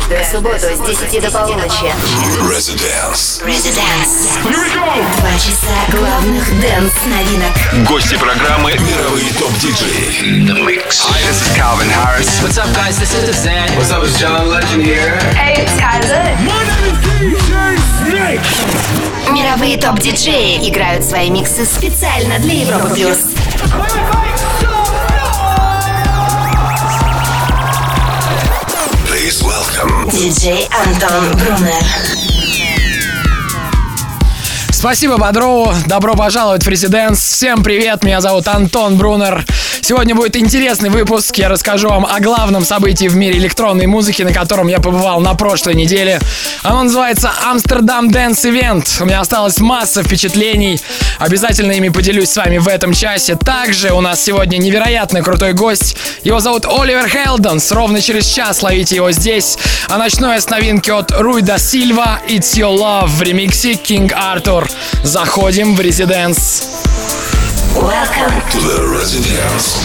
Каждую субботу с 10 до полуночи. Residence. 2 часа главных дэнс-новинок. Гости программы мировые топ-диджеи. The Mix. Hi, this is Calvin Harris. What's up, guys? This is Zen. What's up, it's John Legend here. Hey, it's Kaiser. My name is DJ Snake. Мировые топ-диджеи играют свои миксы специально для Европы+. Please welcome Диджей Антон Брунер. Спасибо Бодрову, добро пожаловать в Residence. Всем привет, меня зовут Антон Брунер. Сегодня будет интересный выпуск, я расскажу вам о главном событии в мире электронной музыки, на котором я побывал на прошлой неделе. Оно называется Amsterdam Dance Event. У меня осталась масса впечатлений, обязательно ими поделюсь с вами в этом часе. Также у нас сегодня невероятно крутой гость, его зовут Оливер Хелденс. Ровно через час ловите его здесь. А начну я с новинки от Руй да Сильва It's Your Love в ремиксе King Arthur. Заходим в Residence. Welcome to the Residence.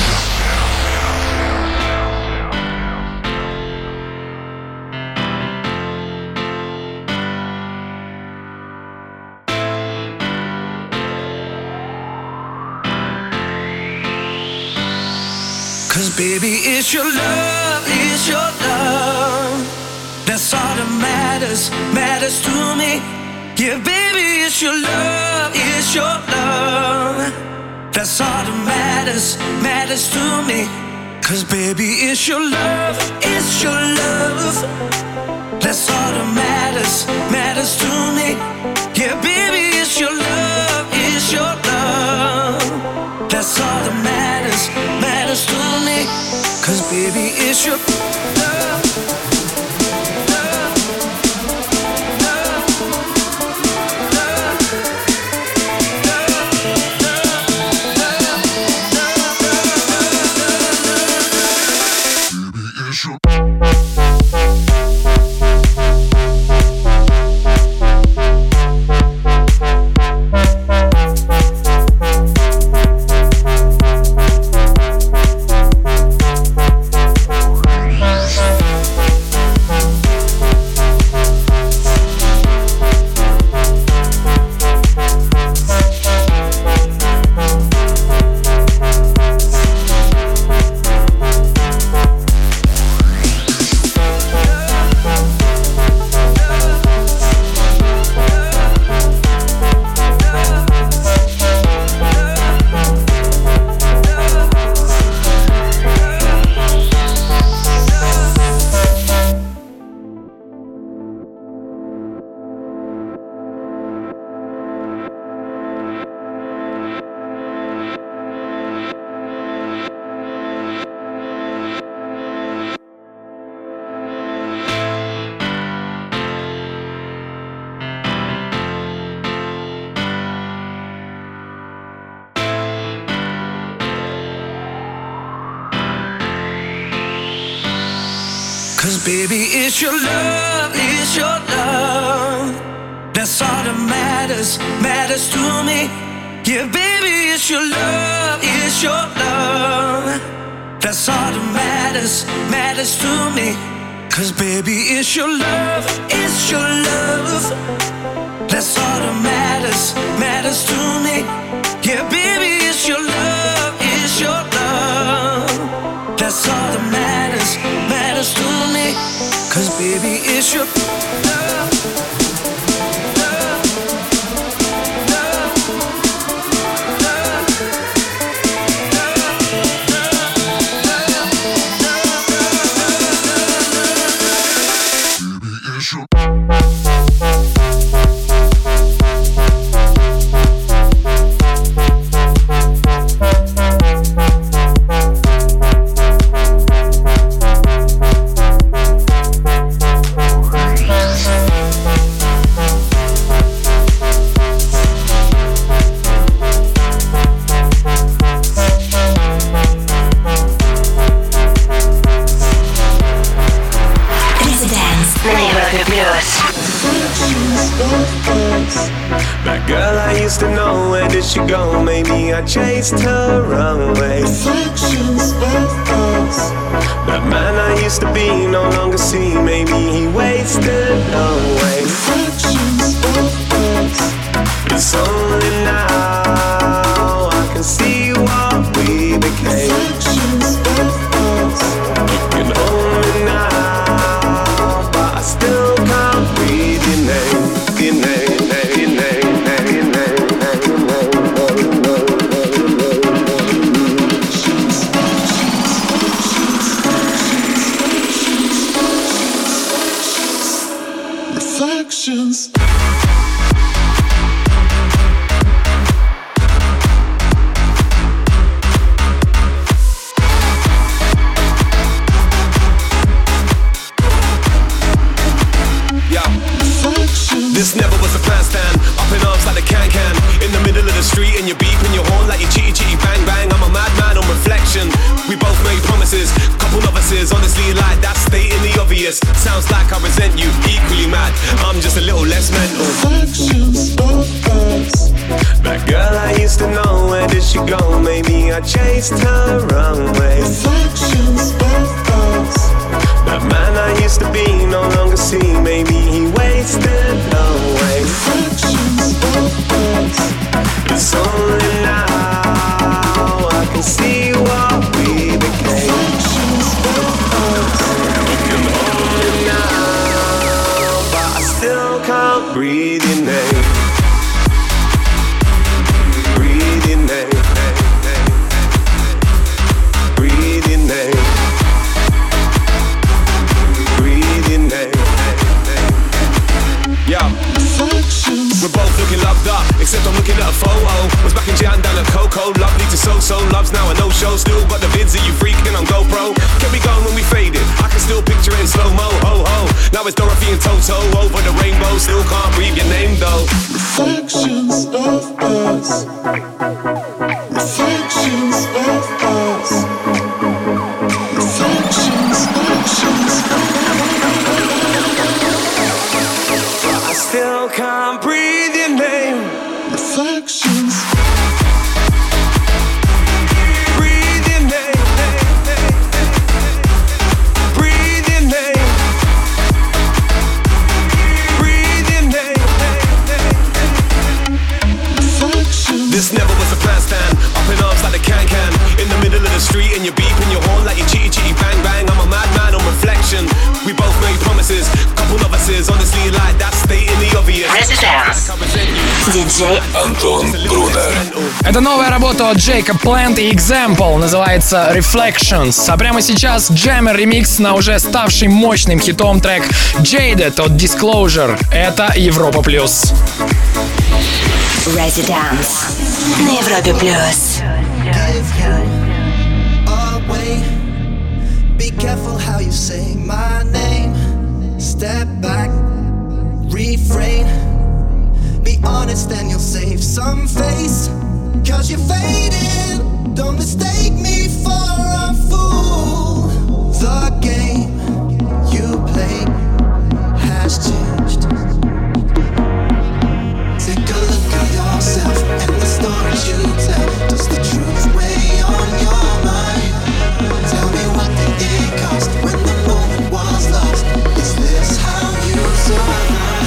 Cause baby, it's your love, it's your love. That's all that matters to me. Yeah, baby, it's your love, it's your love. That's all that matters to me. Cause baby, it's your love, it's your love. That's all that matters to me. Yeah, baby, it's your love, it's your love. That's all that matters to me. Cause baby, it's your love. Cause baby, it's your love, it's your love. That's all that matters to me. Yeah, baby, it's your love, it's your love. That's all that matters to me. Cause baby, it's your love, it's your love. That's all that matters to me. Yeah, baby, it's your love, it's your love. That's all that matters to me. Cause baby, it's your love. Европе плюс. That girl I used to know, where did she go? Maybe I chased her away. That man I used to be no longer see. Maybe he wasted away. It's only now I can see what we became. You can hold me now, but I still can't breathe your name. Your name, your name, your name, your name. Reflections. This never was a plan stand, up in arms like the can-can. In the middle of the street and you're beeping your horn like you chitty bang bang. I'm a madman on reflection. We both made promises, couple novices, honestly like that, stating the obvious. Sounds like I resent you, equally mad, I'm just a little less mental. Reflections of us. That girl I used to know, where did she go? Maybe I chased her away. Reflections of us. That man I used to be no longer see. Maybe he wasted away. Reflections of us. It's only now I can see what we became. Reflections of us. You can hold me now, but I still can't breathe your name. Breathe your name. Breathe your name. Yeah. We're both looking loved up, except I'm looking at a photo. Was back in Jan down at Coco, lovely to so-so. Love's now a no-show, still got the vids of you freaking on GoPro. Kept me going when we faded, I can still picture it in slow-mo, ho-ho. Now it's Dorothy and Toto, over the rainbow. Still can't breathe your name though. Reflections of us. Reflections of us. Reflections, reflections. I still can't breathe your name. Reflections. Breathe your name. Breathe your name. Breathe your name. Reflections. This never was a plan stand, up in arms like the can-can. In the middle of the street and you're beeping your horn like you chitty bang bang. I'm a madman on reflection. We both made promises, couple novices, honestly like that, stating the obvious. Residence. Диджей Антон Брунер. Это новая работа от Jacob Plant и Example, называется Reflections. А прямо сейчас Jammer ремикс на уже ставший мощным хитом трек Jaded от Disclosure. Это Европа плюс. Residence на Европе плюс. Be careful how you say my name. Step back, refrain. Be honest and you'll save some face. Cause you're fading. Don't mistake me for a fool. The game you play has changed. Take a look at yourself and the stories you tell. Does the truth weigh on your mind? Tell me what did it cost when the moment was lost? Is this how you survive?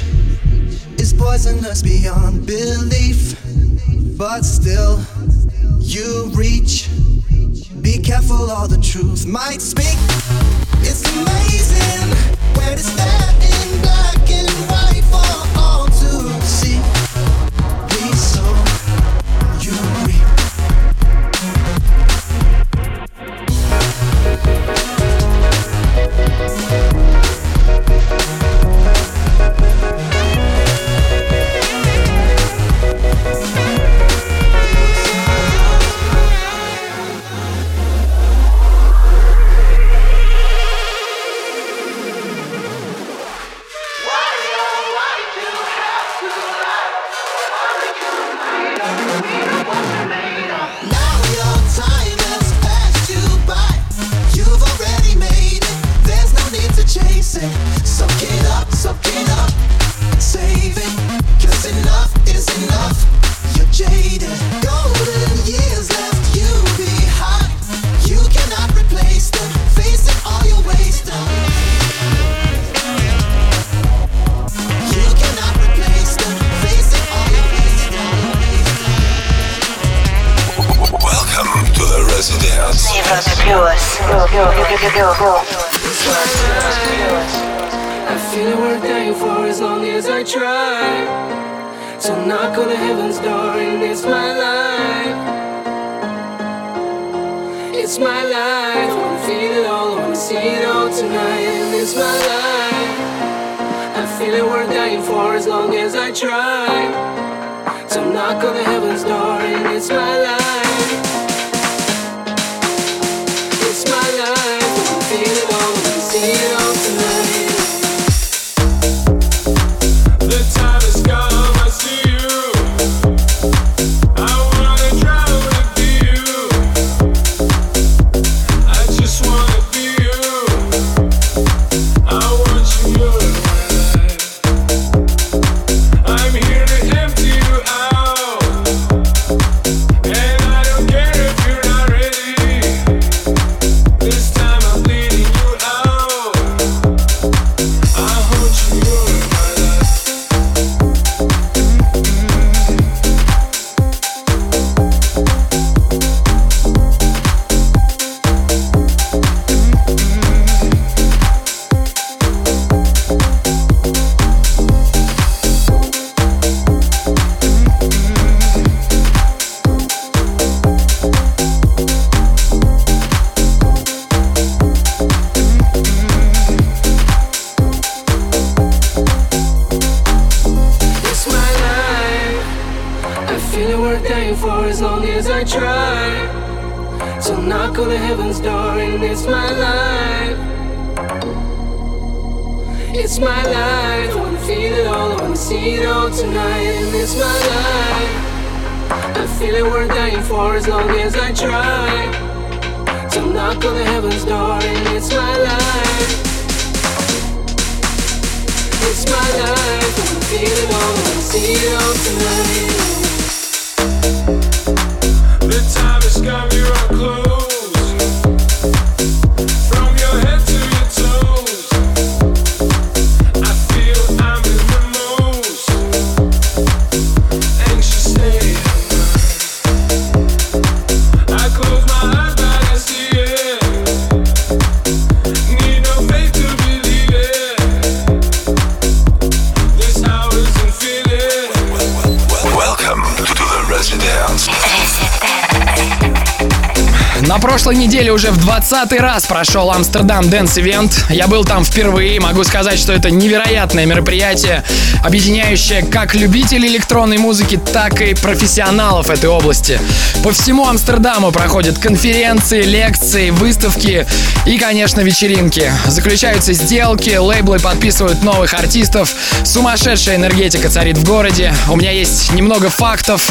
poisonous beyond belief, but still you reach. Be careful, all the truth might speak. It's amazing when it's there in black and white for all to see. We sow, you reap. I feel it worth dying for as long as I try. So knock on the heaven's door and it's my life. It's my life. I wanna feel it all, I wanna see it all tonight. And it's my life. I feel it worth dying for as long as I try. So knock on the heaven's door and it's my life. It's my life. I wanna feel it all, I wanna see it all tonight. The time has come, I see you. I wanna drown with you. I just wanna be you. I want you, you're my life. I'm here to empty you out. And I don't care if you're not ready. This time I'm bleeding you out. I want you, you're my life. It's my life. I feel it worth dying for as long as I try. So knock on the heaven's door and it's my life. It's my life. I wanna feel it all, I wanna see it all tonight. And it's my life. I feel it worth dying for as long as I try. So knock on the heaven's door and it's my life. It's my life, I wanna feel it all, I wanna see it all tonight. The time has come, you are close. From your head to your toes. I feel I'm in the most anxious state of mind. I close my eyes, but I see it. Need no faith to believe it. This hour's and feel it. Welcome to the Residence. На прошлой неделе уже в 20-й раз прошел Амстердам Dance Event. Я был там впервые. Могу сказать, что это невероятное мероприятие, объединяющее как любителей электронной музыки, так и профессионалов этой области. По всему Амстердаму проходят конференции, лекции, выставки и, конечно, вечеринки. Заключаются сделки, лейблы подписывают новых артистов. Сумасшедшая энергетика царит в городе. У меня есть немного фактов.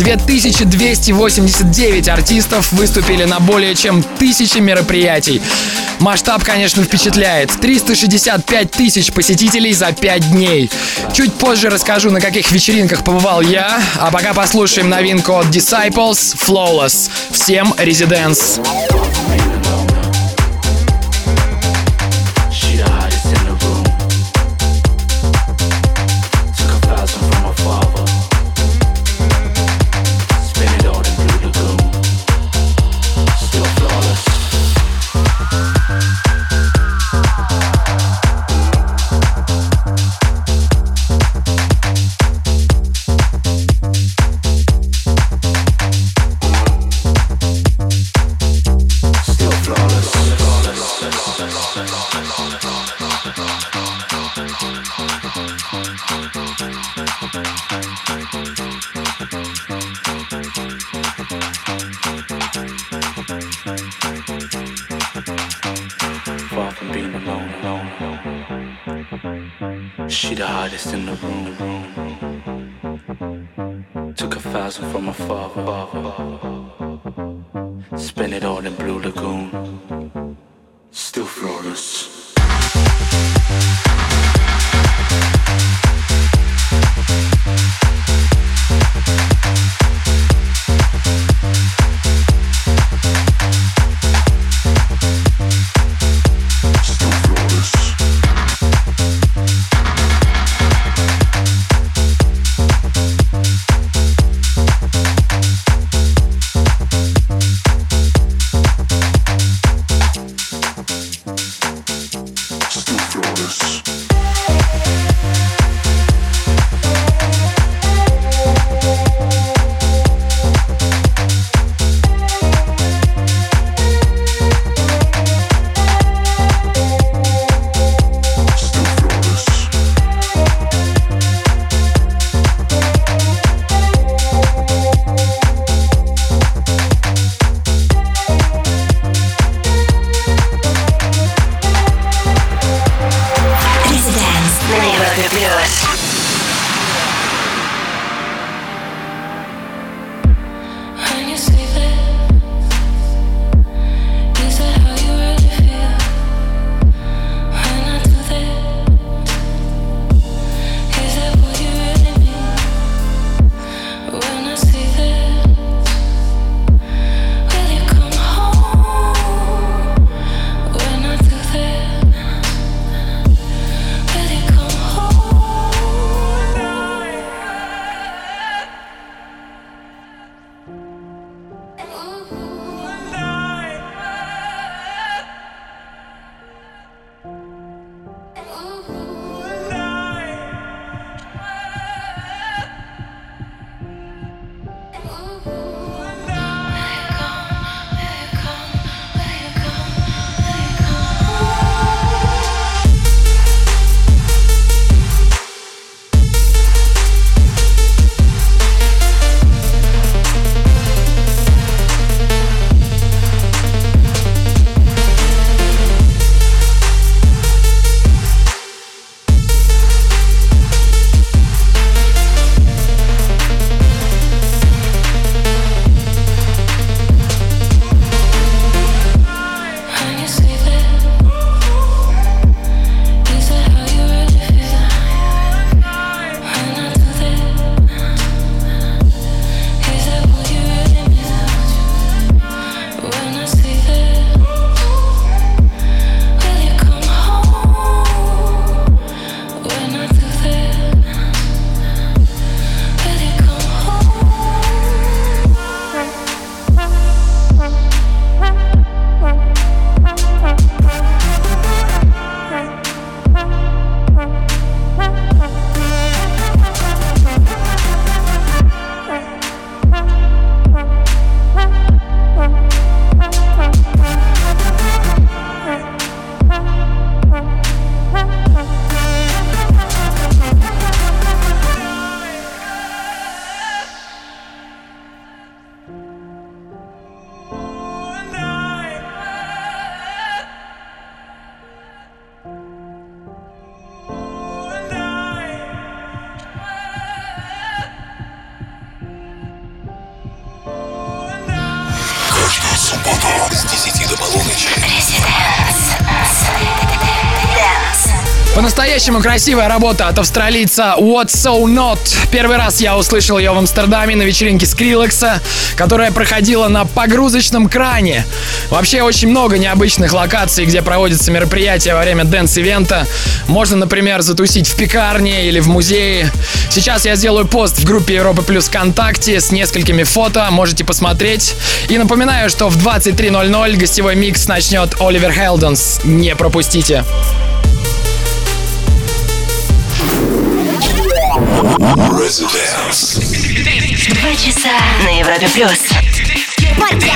2289 артистов выступили на более чем 1000 мероприятий. Масштаб, конечно, впечатляет. 365 тысяч посетителей за 5 дней. Чуть позже расскажу, на каких вечеринках побывал я. А пока послушаем новинку от Disciples Flawless. Всем Residence. Spin it on the blue lagoon. She the hottest in the room. Took 1,000 from my father. Spent it all in Blue Lagoon. Still flawless. С 10 до полуночи. По-настоящему красивая работа от австралийца What's So Not. Первый раз я услышал ее в Амстердаме на вечеринке Скриллекса, которая проходила на погрузочном кране. Вообще очень много необычных локаций, где проводятся мероприятия во время дэнс-ивента. Можно, например, затусить в пекарне или в музее. Сейчас я сделаю пост в группе Европа Плюс ВКонтакте с несколькими фото, можете посмотреть. И напоминаю, что в 23:00 гостевой микс начнет Оливер Хелденс. Не пропустите. 2 часа на Европе Плюс. Парти!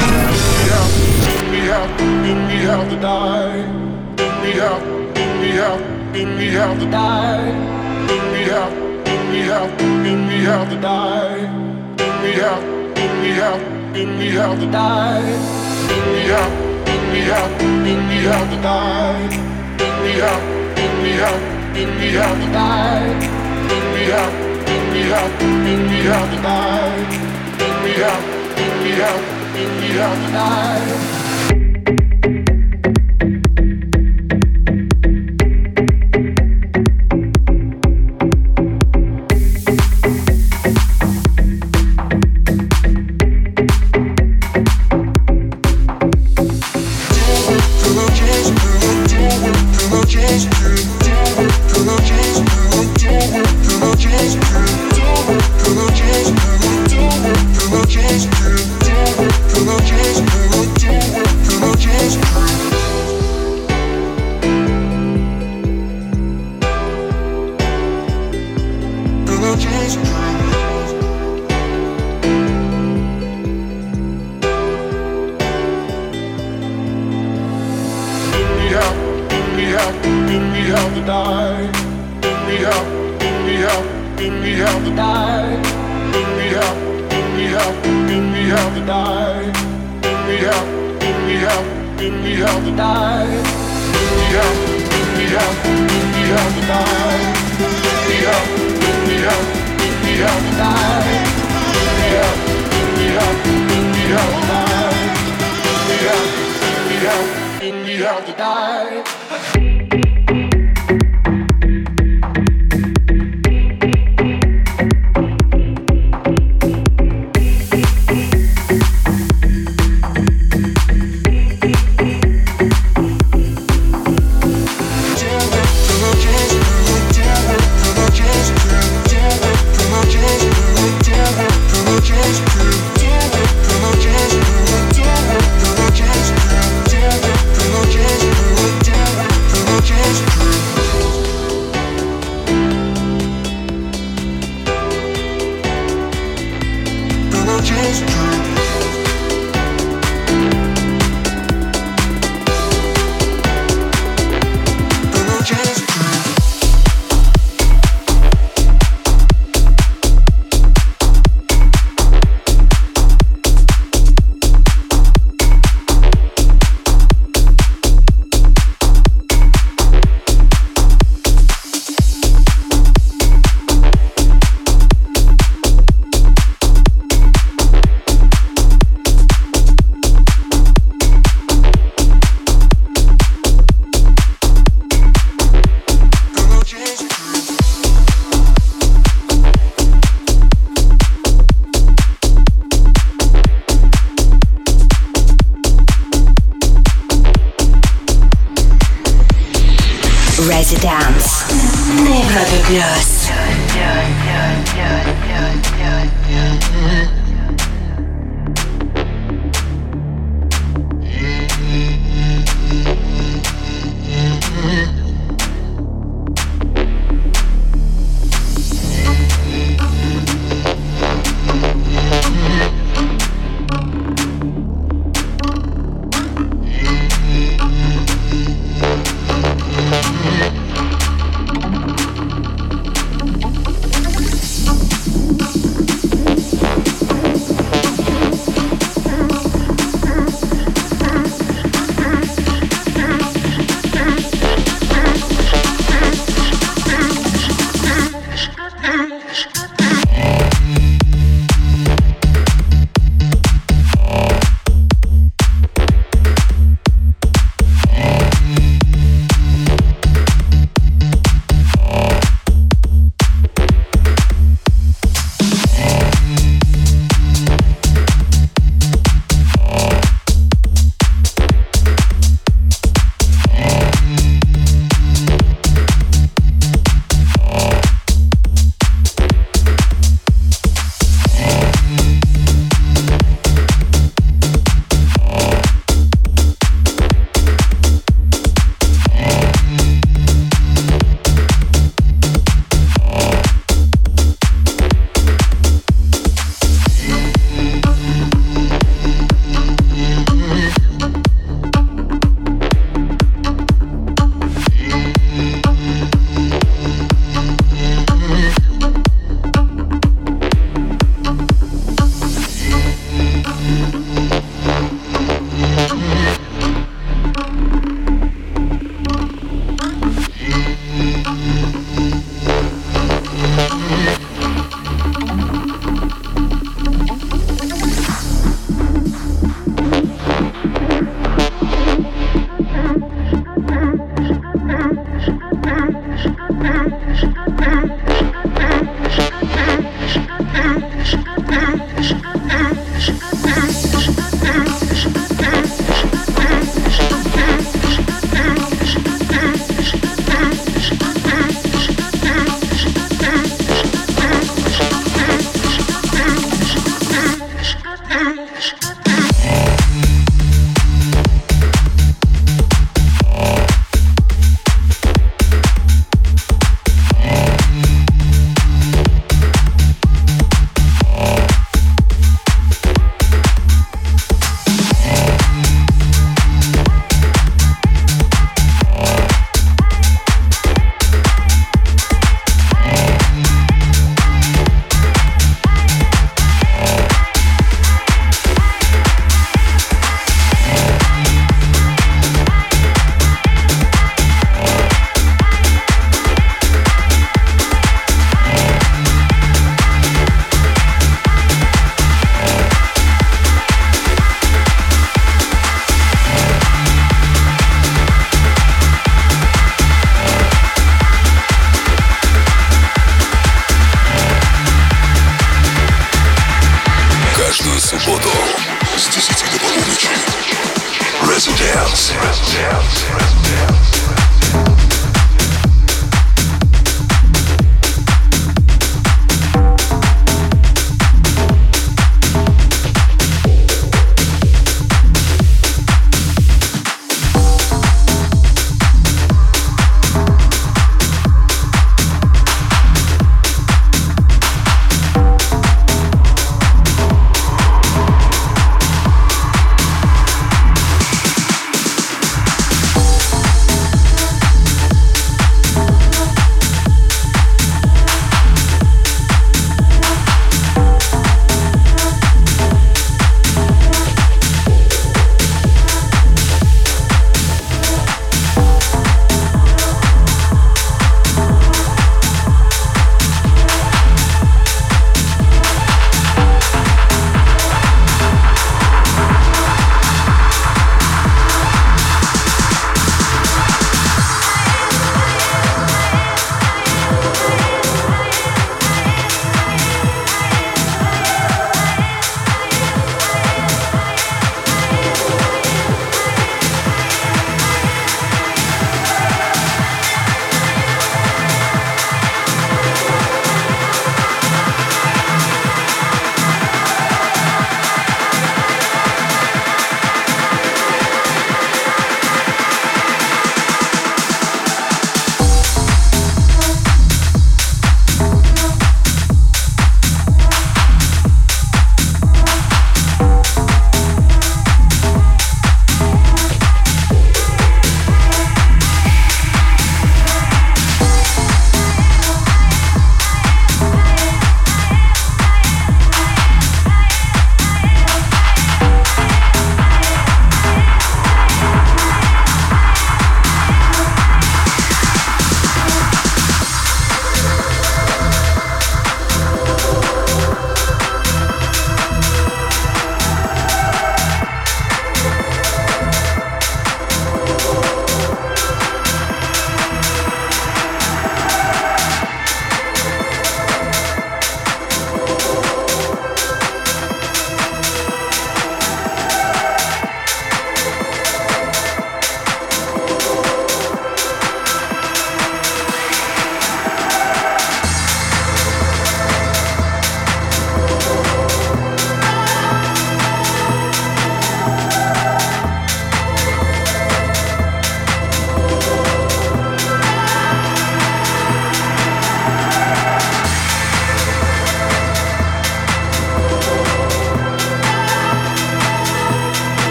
Residence на Европе Плюс.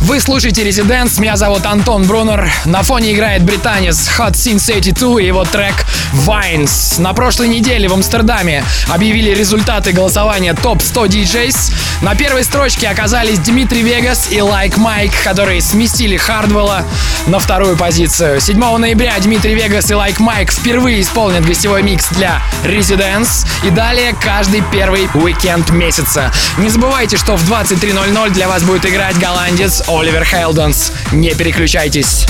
Вы слушаете Residents, меня зовут Антон Брунер. На фоне играет британец Hot Since 82 и его трек Vines. На прошлой неделе в Амстердаме объявили результаты голосования топ 100 DJs. На первой строчке оказались Дмитрий Вегас и Like Mike, которые сместили Хардвелла на вторую позицию. 7 ноября Дмитрий Вегас и Like Mike впервые исполнят гостевой микс для Residents. И далее каждый первый уикенд месяца. Не забывайте, что в 23:00 для вас будет играть голландец Оливер Хейлденс. Не переключайтесь.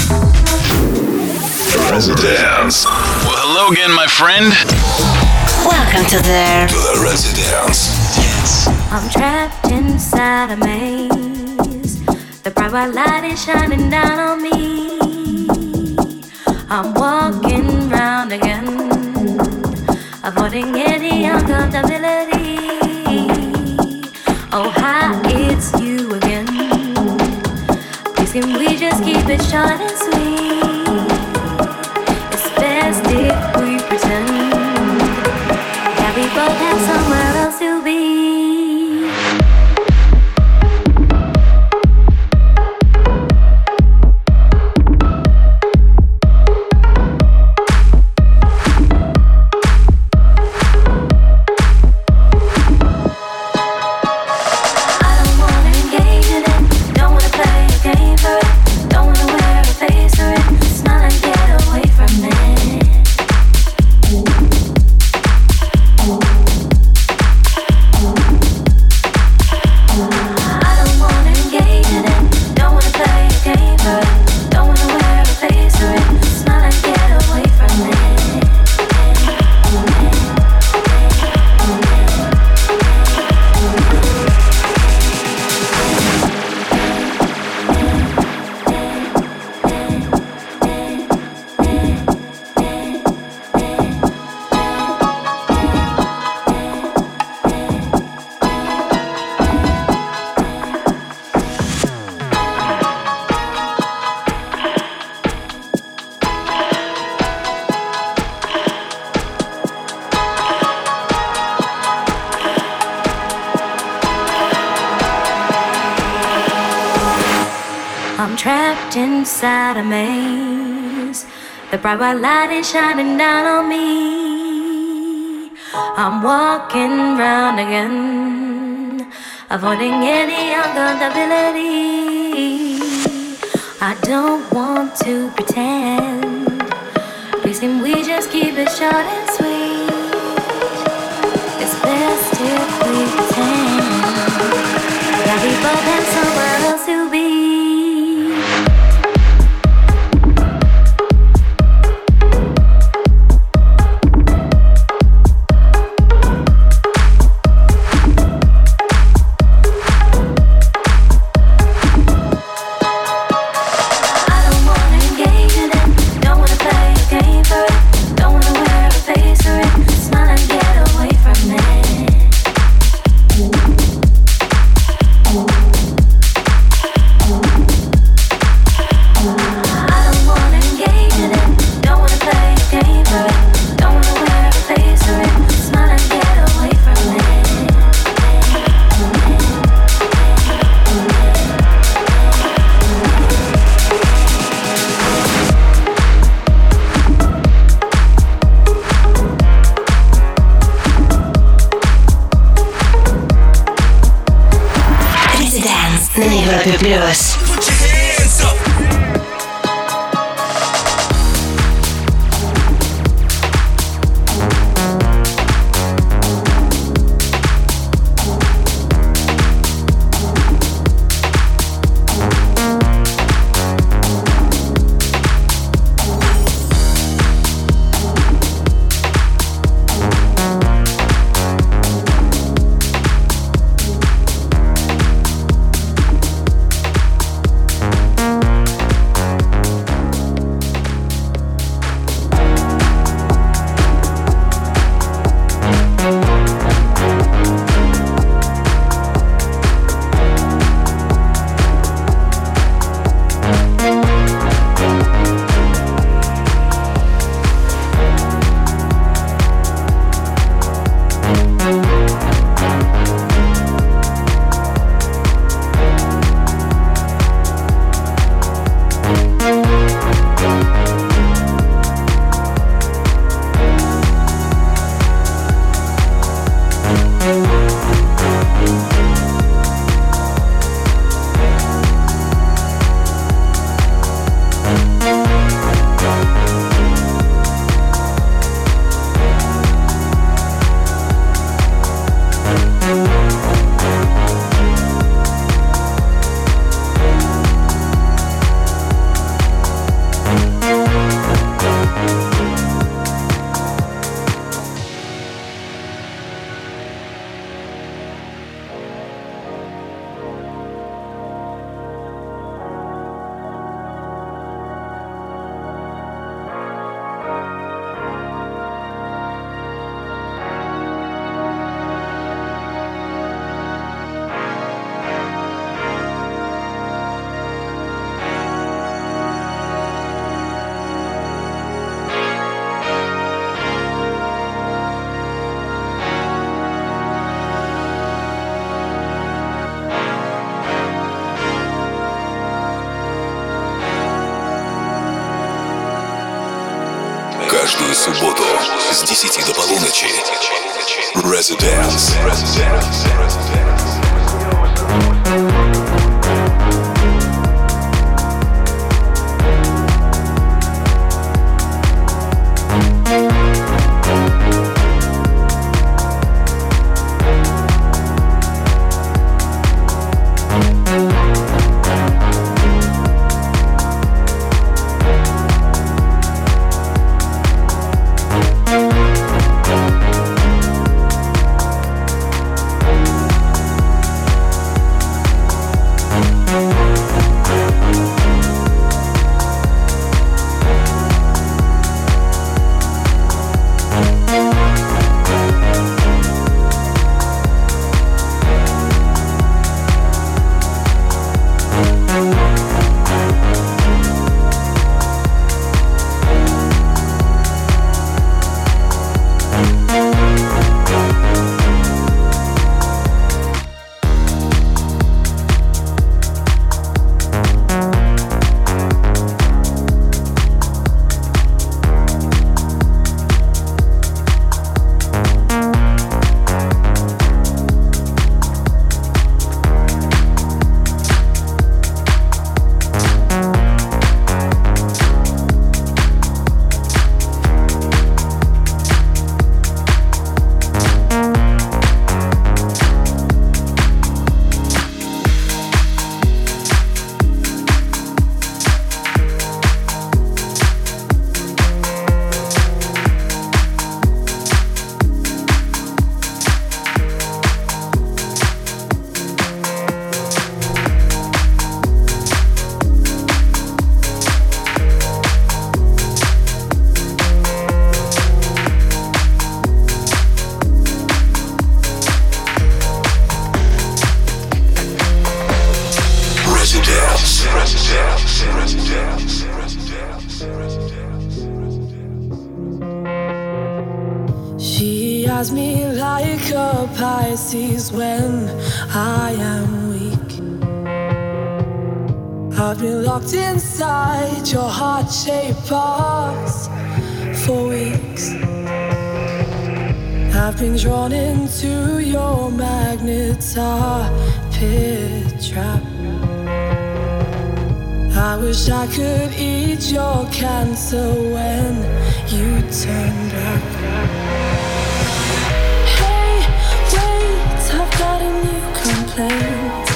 Residence. Well, hello again, my friend. Welcome to the Residence. I'm trapped inside a maze. The bright white light is shining down on me. I'm walking round again, avoiding any uncomfortability. Oh, hi, it's you again. Please can we just keep it short and sweet? It's best if we pretend that we both have somewhere else to be. Inside a maze, the bright white light is shining down on me. I'm walking round again, avoiding any uncomfortability. I don't want to pretend. Please can we just keep it short and sweet? It's best if we pretend that we both have somewhere else to be. Плюс. субботу с 10 до полуночи. Residence. She has me like a Pisces when I am weak. I've been locked inside your heart-shaped box for weeks. I've been drawn into your magnet pit trap. I wish I could eat your cancer when you turn back. Hey, wait, I've got a new complaint.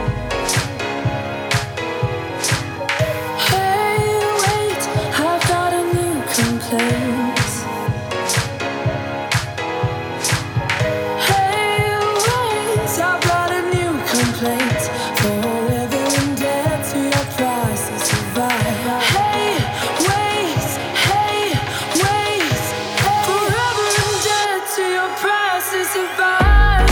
Hey, wait, I've got a new complaint. Hey, wait, I've got a new complaint. Forever indebted to your price to survive. Hey, wait, forever indebted to your price to survive.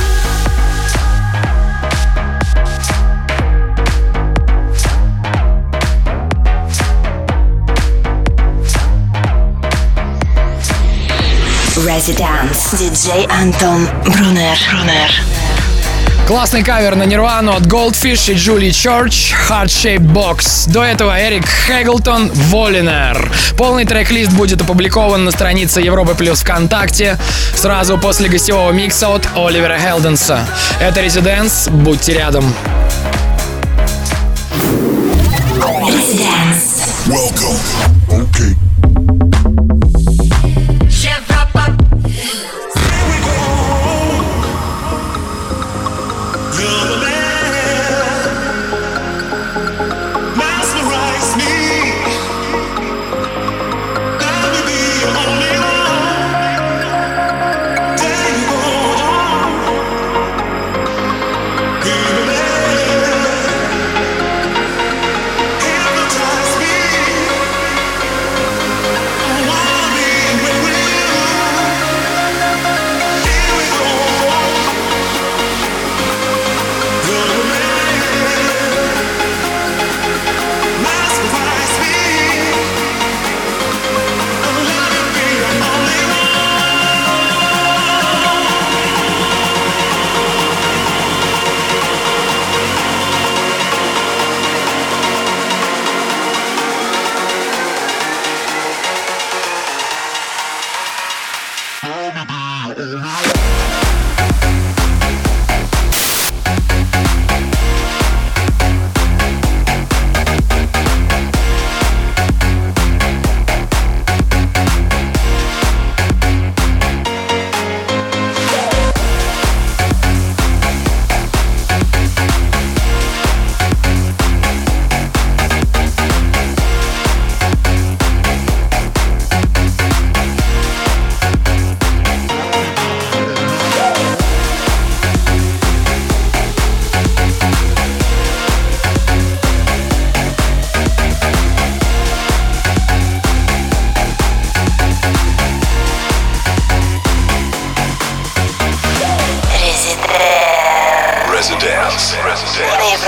Residence. Диджей Антон Брунер. Классный кавер на Нирвану от Goldfish и Julie Church, Heart Shaped Box. До этого Эрик Хэглтон, Voliner. Полный трек-лист будет опубликован на странице Европы Плюс ВКонтакте сразу после гостевого микса от Оливера Хелденса. Это Residence, будьте рядом. Residence. Welcome. Okay. Hypnotize me.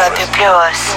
Европе плюс.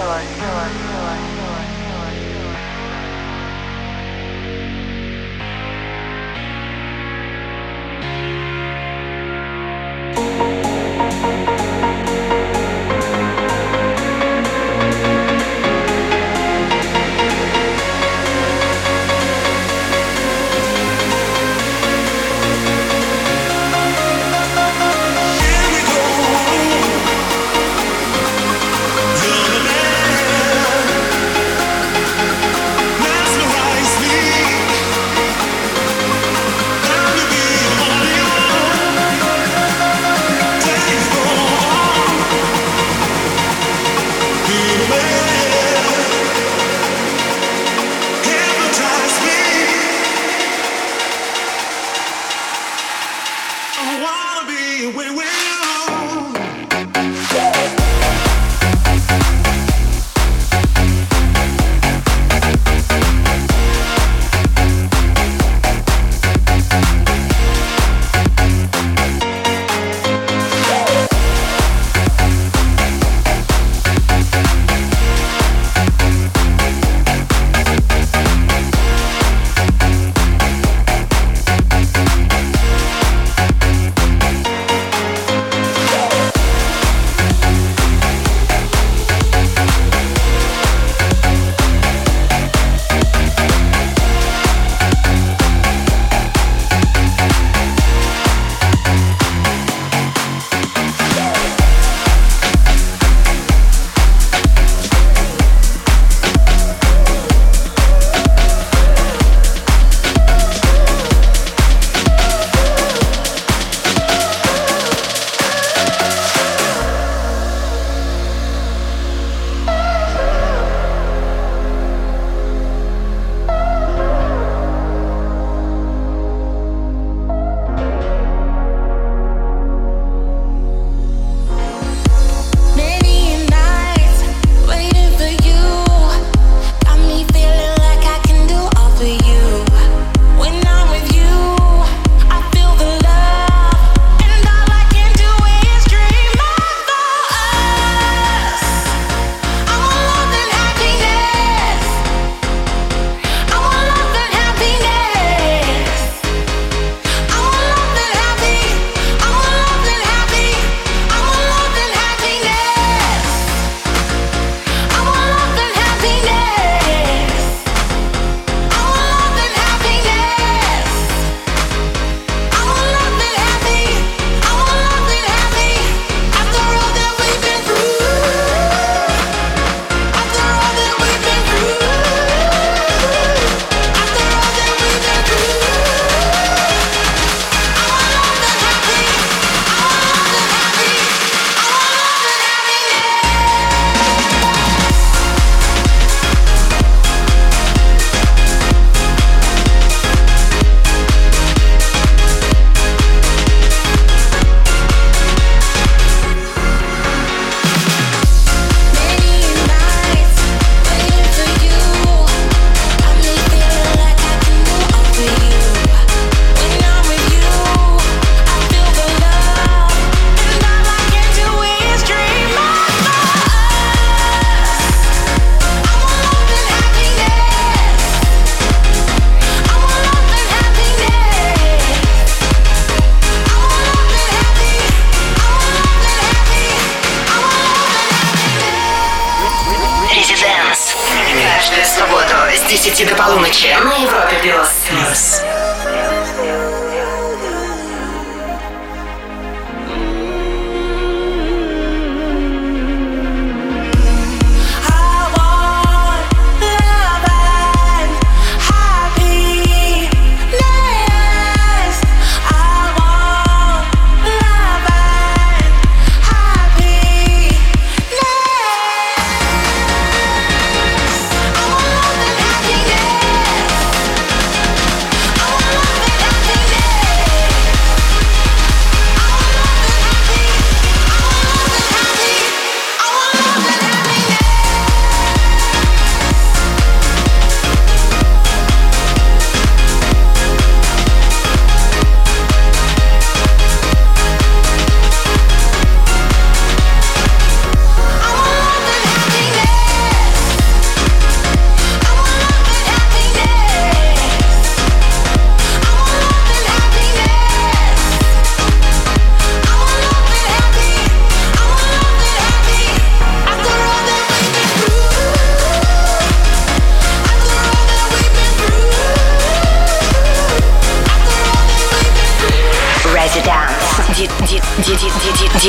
Каждую субботу с 10 до полуночи на Европе плюс. I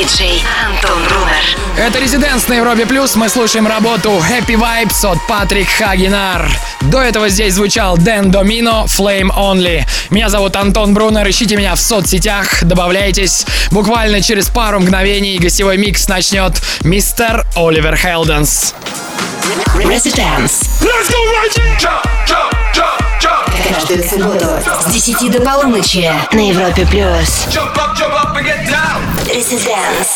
Диджей Антон Брунер. Это Резиденс на Европе Плюс. Мы слушаем работу Happy Vibes от Патрик Хагенар. До этого здесь звучал Дэн Домино, Flame Only. Меня зовут Антон Брунер. Ищите меня в соцсетях, добавляйтесь. Буквально через пару мгновений гостевой микс начнет мистер Оливер Хелденс. Residence. Let's go right here. Jump, jump, jump, jump. Каждую субботу с 10 до полуночи на Европе Плюс. Jump up and get down. Residence.